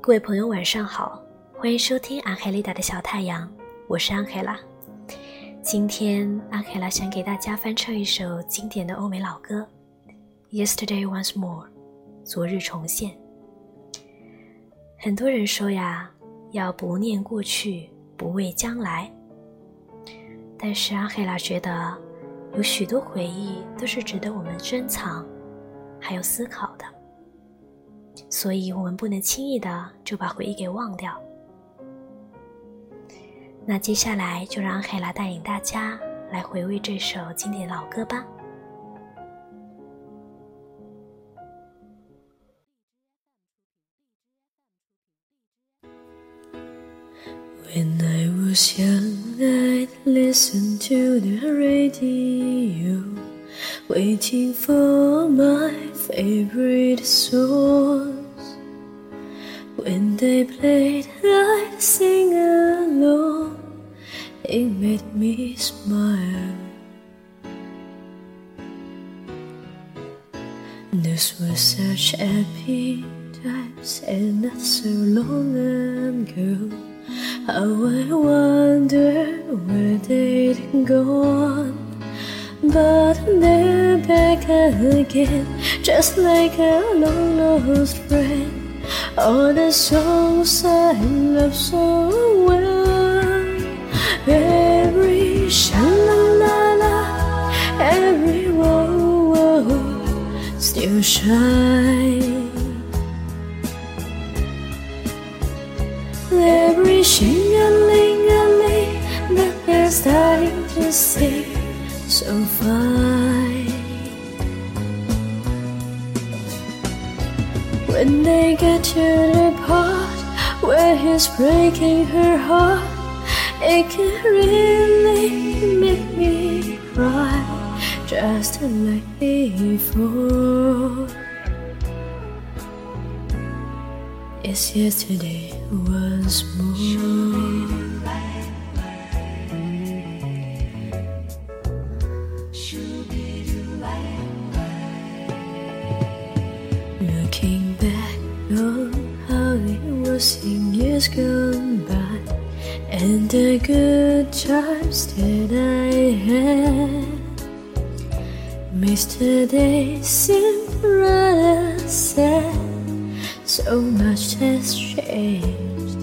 各位朋友晚上好，欢迎收听安黑丽达的小太阳，我是安黑拉。今天安黑拉想给大家翻唱一首经典的欧美老歌 Yesterday Once More， 昨日重现。很多人说呀，要不念过去，不畏将来，但是安黑拉觉得有许多回忆都是值得我们珍藏还有思考的，所以我们不能轻易的就把回忆给忘掉。那接下来就让安黑拉带领大家来回味这首经典老歌吧。 When I was young, I'd listen to the radio, waiting for my favorite songs. When they played, I'd sing along. It made me smile. Those were such happy times, and not so long ago. How I wonder where they'd gone. But they're back again, just like a long-lost friend. All the songs I love so well, every sha-la-la-la, every whoa-whoa still shine. Every shing-a-ling-a-ling that they're starting to sing so fine. When they get to the part where he's breaking her heart, it can really make me cry, just like before. It's yesterday once more. Looking back on how it was in years gone by, and the good times that I had, yesterday seemed rather sad. So much has changed.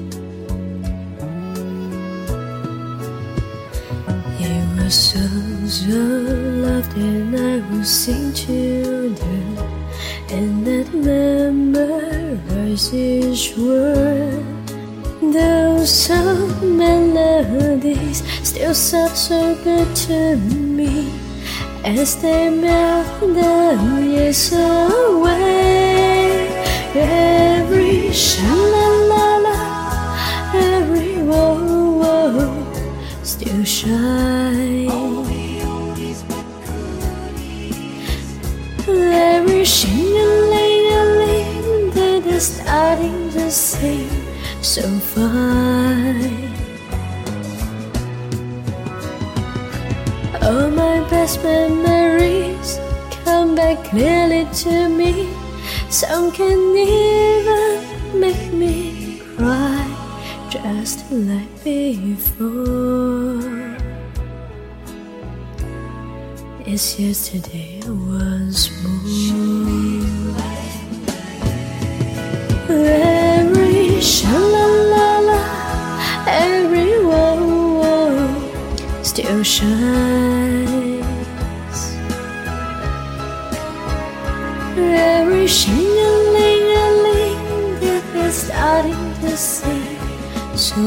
It was songs of love that I would sing to them, and that memorize each word. Those soft melodies still sound so good to me as they melt the years away. Every sha-la-la-la, every whoa-whoa still shine. Every shing-a-ling-a-ling that they're starting to sing so fine. All my best memories come back clearly to me. Some can even make me cry, just like before. It's yesterday once more. Every sha-la-la-la, every whoa-whoa still shines. Every shing-a-ling-a-ling that they're starting to sing so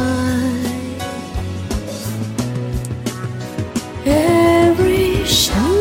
fine. Every shing